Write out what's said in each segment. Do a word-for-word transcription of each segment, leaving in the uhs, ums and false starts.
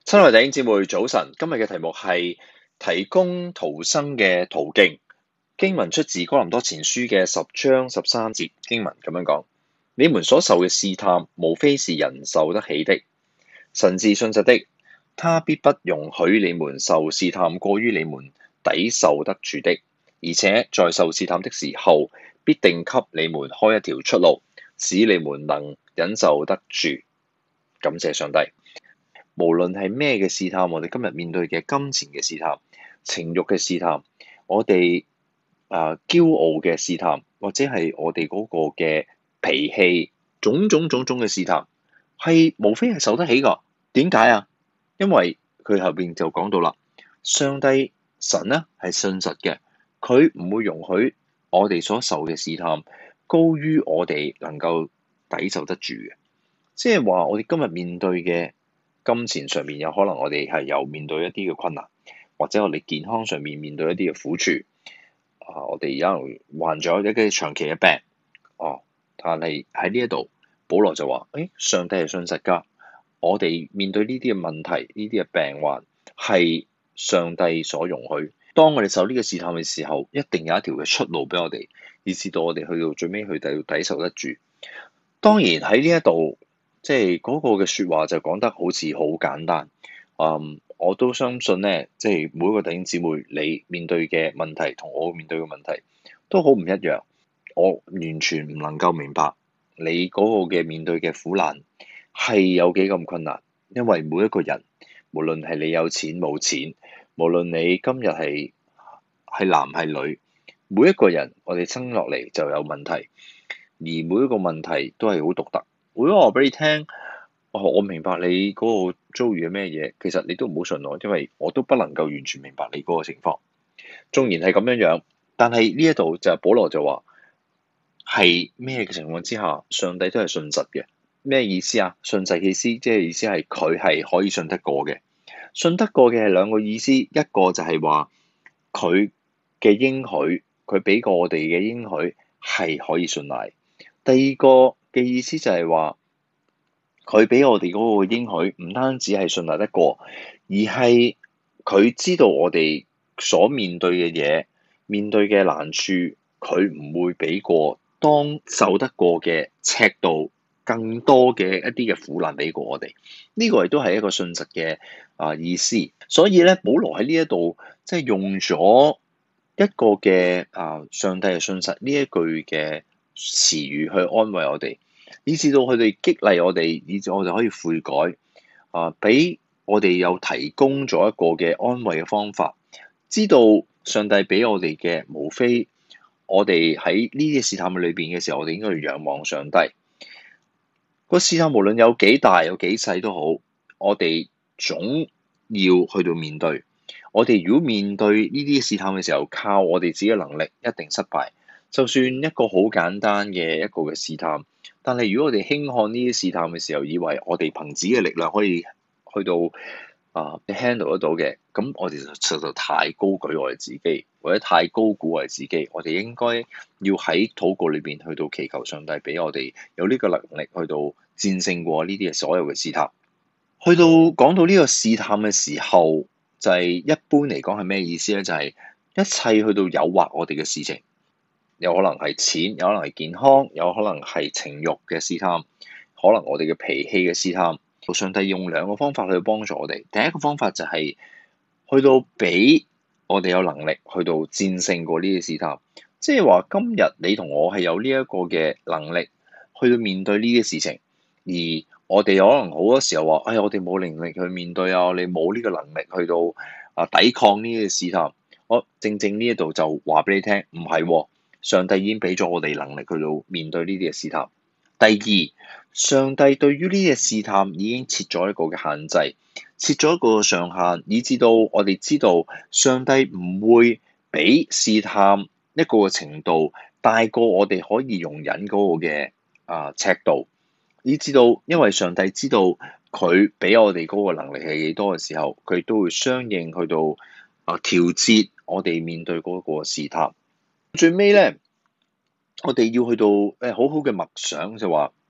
親愛弟兄姊妹，早晨。今日嘅題目係提供逃生嘅途徑。經文出自哥林多前書嘅十章十三節，經文咁樣講：你們所受嘅試探，無非是人受得起的。神是信實的，他必不容許你們受試探過於你們抵受得住的，而且在受試探的時候，必定給你們開一條出路，使你們能忍受得住。感謝上帝。無論係咩嘅試探，我哋今日面對嘅金錢嘅試探、情慾嘅試探，我哋啊、呃、驕傲嘅試探，或者係我哋嗰個嘅脾氣，種種種種嘅試探，係無非係受得起㗎。點解啊？因為佢後邊就講到啦，上帝神呢係信實嘅，佢唔會容許我哋所受嘅試探高於我哋能夠抵受得住嘅。即係話我哋今日面對嘅金錢上面，有可能我哋係有面對一啲嘅困難，或者我哋健康上面面對一啲嘅苦處。啊，我哋有人患咗一啲長期嘅病，哦，但係喺呢一度，保羅就話：誒、哎，上帝係信實㗎。我哋面對呢啲嘅問題，呢啲嘅病患係上帝所容許。當我哋受呢個試探嘅時候，一定有一條嘅出路俾我哋，以至到我哋去到最尾去抵抵受得住。當然喺呢一度。即係嗰個嘅説話就講得好似好簡單，嗯，我都相信咧，即係每一個弟兄姊妹，你面對嘅問題同我面對嘅問題都好唔一樣。我完全唔能夠明白你嗰個嘅面對嘅苦難係有幾咁困難，因為每一個人，無論係你有錢冇錢，無論你今日係係男係女，每一個人我哋生落嚟就有問題，而每一個問題都係好獨特。如果我話俾你聽，哦，我明白你嗰個遭遇係咩嘢，其實你都唔好信我，因為我都不能夠完全明白你嗰個情況。縱然係咁樣樣，但係呢一度就係保羅就話係咩嘅情況之下，上帝都係信實嘅。咩意思啊？信實嘅意思，即係意思係佢係可以信得過嘅。信得過嘅係兩個意思，一個就係話佢嘅應許，佢俾過我哋嘅應許係可以信賴。第二個嘅意思就係話，佢俾我哋嗰個應許唔單止係信賴得過，而係佢知道我哋所面對嘅嘢、面對嘅難處，佢唔會俾過當受得過嘅尺度更多嘅一啲嘅苦難俾過我哋。呢個亦都係一個信實嘅啊意思。所以咧，保羅喺呢一度即係用咗一個嘅啊上帝係信實呢一句嘅詞語去安慰我哋，以至到佢哋激勵我哋，以至我哋可以悔改啊！俾我哋有提供咗一個嘅安慰嘅方法，知道上帝俾我哋嘅，無非我哋喺呢啲試探裏邊嘅時候，我哋應該要仰望上帝。個試探無論有幾大有幾細都好，我哋總要去到面對。我哋如果面對呢啲試探嘅時候，靠我哋自己嘅能力，一定失敗。就算一個好簡單嘅一個嘅試探，但係如果我哋輕看呢啲試探嘅時候，以為我哋憑自己嘅力量可以去到啊 handle 得到嘅，咁我哋就實在太高舉我哋自己，或者太高估我哋自己。我哋應該要喺禱告裏邊去到祈求上帝俾我哋有呢個能力去到戰勝過呢啲嘅所有嘅試探。去到講到呢個試探嘅時候，就係一般嚟講係咩意思咧？就係一切去到誘惑我哋嘅事情。有可能係錢，有可能係健康，有可能係情慾嘅試探，可能我哋嘅脾氣嘅試探。上帝用兩個方法去幫助我哋。第一個方法就係去到俾我哋有能力去到戰勝過呢啲試探，即係話今日你同我係有呢一個嘅能力去到面對呢啲事情，而我哋可能好多時候話：哎，我哋冇能力去面對啊，你冇呢個能力去到啊抵抗呢啲試探。我正正呢一度就話俾你聽，唔係喎。上帝已經俾咗我哋能力去到面對呢啲嘅試探。第二，上帝對於呢啲嘅試探已經設咗一個嘅限制，設咗一個上限，以至到我哋知道上帝唔會俾試探一個嘅程度大過我哋可以容忍嗰個嘅啊尺度，以至到因為上帝知道佢俾我哋嗰個能力係幾多嘅時候，佢都會相應去到啊調節我哋面對嗰個試探。最尾咧，我哋要去到誒好好嘅默想，就話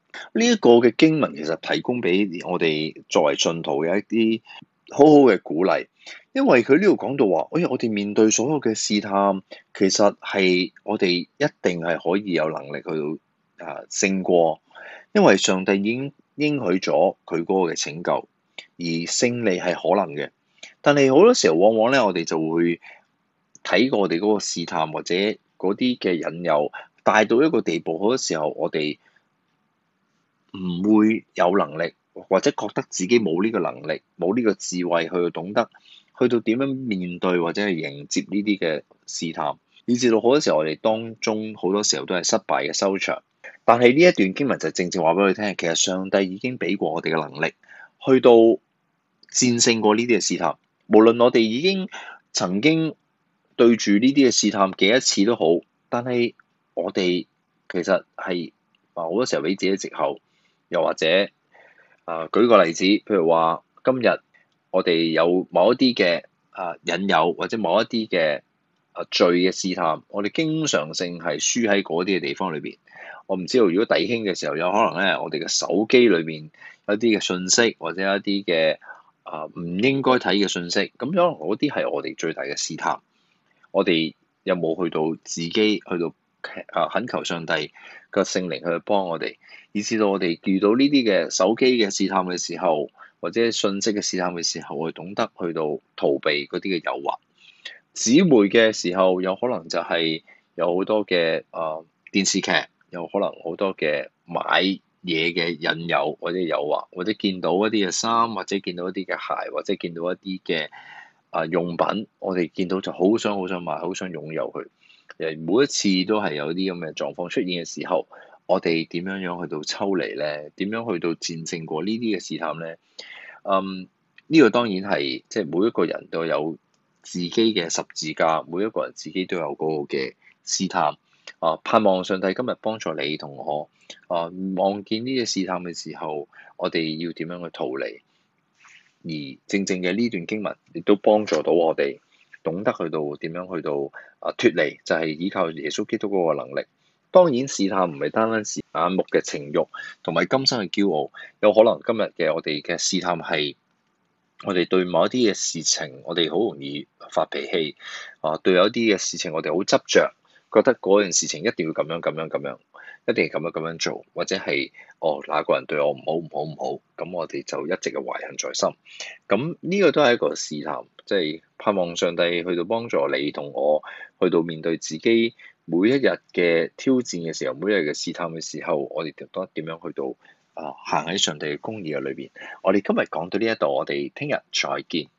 呢一個嘅經文其實提供俾我哋作為信徒嘅一啲好好嘅鼓勵，因為佢呢度講到話，哎呀，我哋面對所有嘅試探，其實係我哋一定係可以有能力去到啊勝過，因為上帝已經應許咗佢嗰個嘅拯救，而勝利係可能嘅。但係好多時候，往往咧，我哋就會睇過我哋嗰個試探或者嗰啲嘅引誘大到一個地步，好多時候我哋唔會有能力，或者覺得自己冇呢個能力，冇呢個智慧去懂得去到點樣面對或者係迎接呢啲嘅試探，以至到好多時候我哋當中好多時候都係失敗嘅收場。但係呢一段經文就正正話俾佢聽，其實上帝已經俾過我哋嘅能力，去到戰勝過呢啲嘅試探。無論我哋已經曾經對住呢啲嘅試探幾多次都好，但係我哋其實係啊好多時候俾自己藉口。又或者啊，舉個例子，譬如話今日我哋有某一啲嘅啊引誘，或者某一啲嘅啊罪嘅試探，我哋經常性係輸喺嗰啲嘅地方裏邊。我唔知道，如果弟兄嘅時候，有可能咧，我哋嘅手機裏邊有一啲嘅信息，或者一啲嘅啊唔應該睇嘅信息，咁樣嗰啲係我哋最大嘅試探。我哋有冇去到自己去到啊懇求上帝個聖靈去幫我哋，以至到我哋遇到呢啲嘅手機嘅試探嘅時候，或者信息嘅試探嘅時候，我哋懂得去到逃避嗰啲嘅誘惑。姊妹嘅時候，有可能就係有好多嘅啊電視劇，有可能好多嘅買嘢嘅引誘或者誘惑，或者見到一啲嘅衫，或者見到一啲嘅鞋，或者見到一啲嘅啊用品，我哋見到就好想好想買，好想擁有佢。誒每一次都係有啲咁嘅狀況出現嘅時候，我哋點樣樣去到抽離咧？點樣去到戰勝過呢啲嘅試探咧？嗯，呢個當然係即係每一個人都有自己嘅十字架，每一個人自己都有嗰個嘅試探。啊，盼望上帝今日幫助你同我。啊，望見呢啲試探嘅時候，我哋要點樣去逃離？而正正嘅呢段經文亦都幫助到我哋懂得去到點樣去到啊脫離，就係依靠耶穌基督嗰個能力。當然試探唔係單單是眼目嘅情慾同埋今生嘅驕傲，有可能今日嘅我哋嘅試探係我哋對某一啲嘅事情，我哋好容易發脾氣啊，對有一啲嘅事情我哋好執着，覺得嗰件事情一定要咁樣咁樣咁樣，一定係咁樣咁樣做，或者係哦哪個人對我唔好唔好唔好，咁我哋就一直嘅懷恨在心。咁呢個都係一個試探，即係盼望上帝去到幫助你同我，去到面對自己每一日嘅挑戰嘅時候，每一日嘅試探嘅時候，我哋覺得點樣去到啊行喺上帝嘅公義嘅裏邊。我哋今日講到呢一度，我哋聽日再見。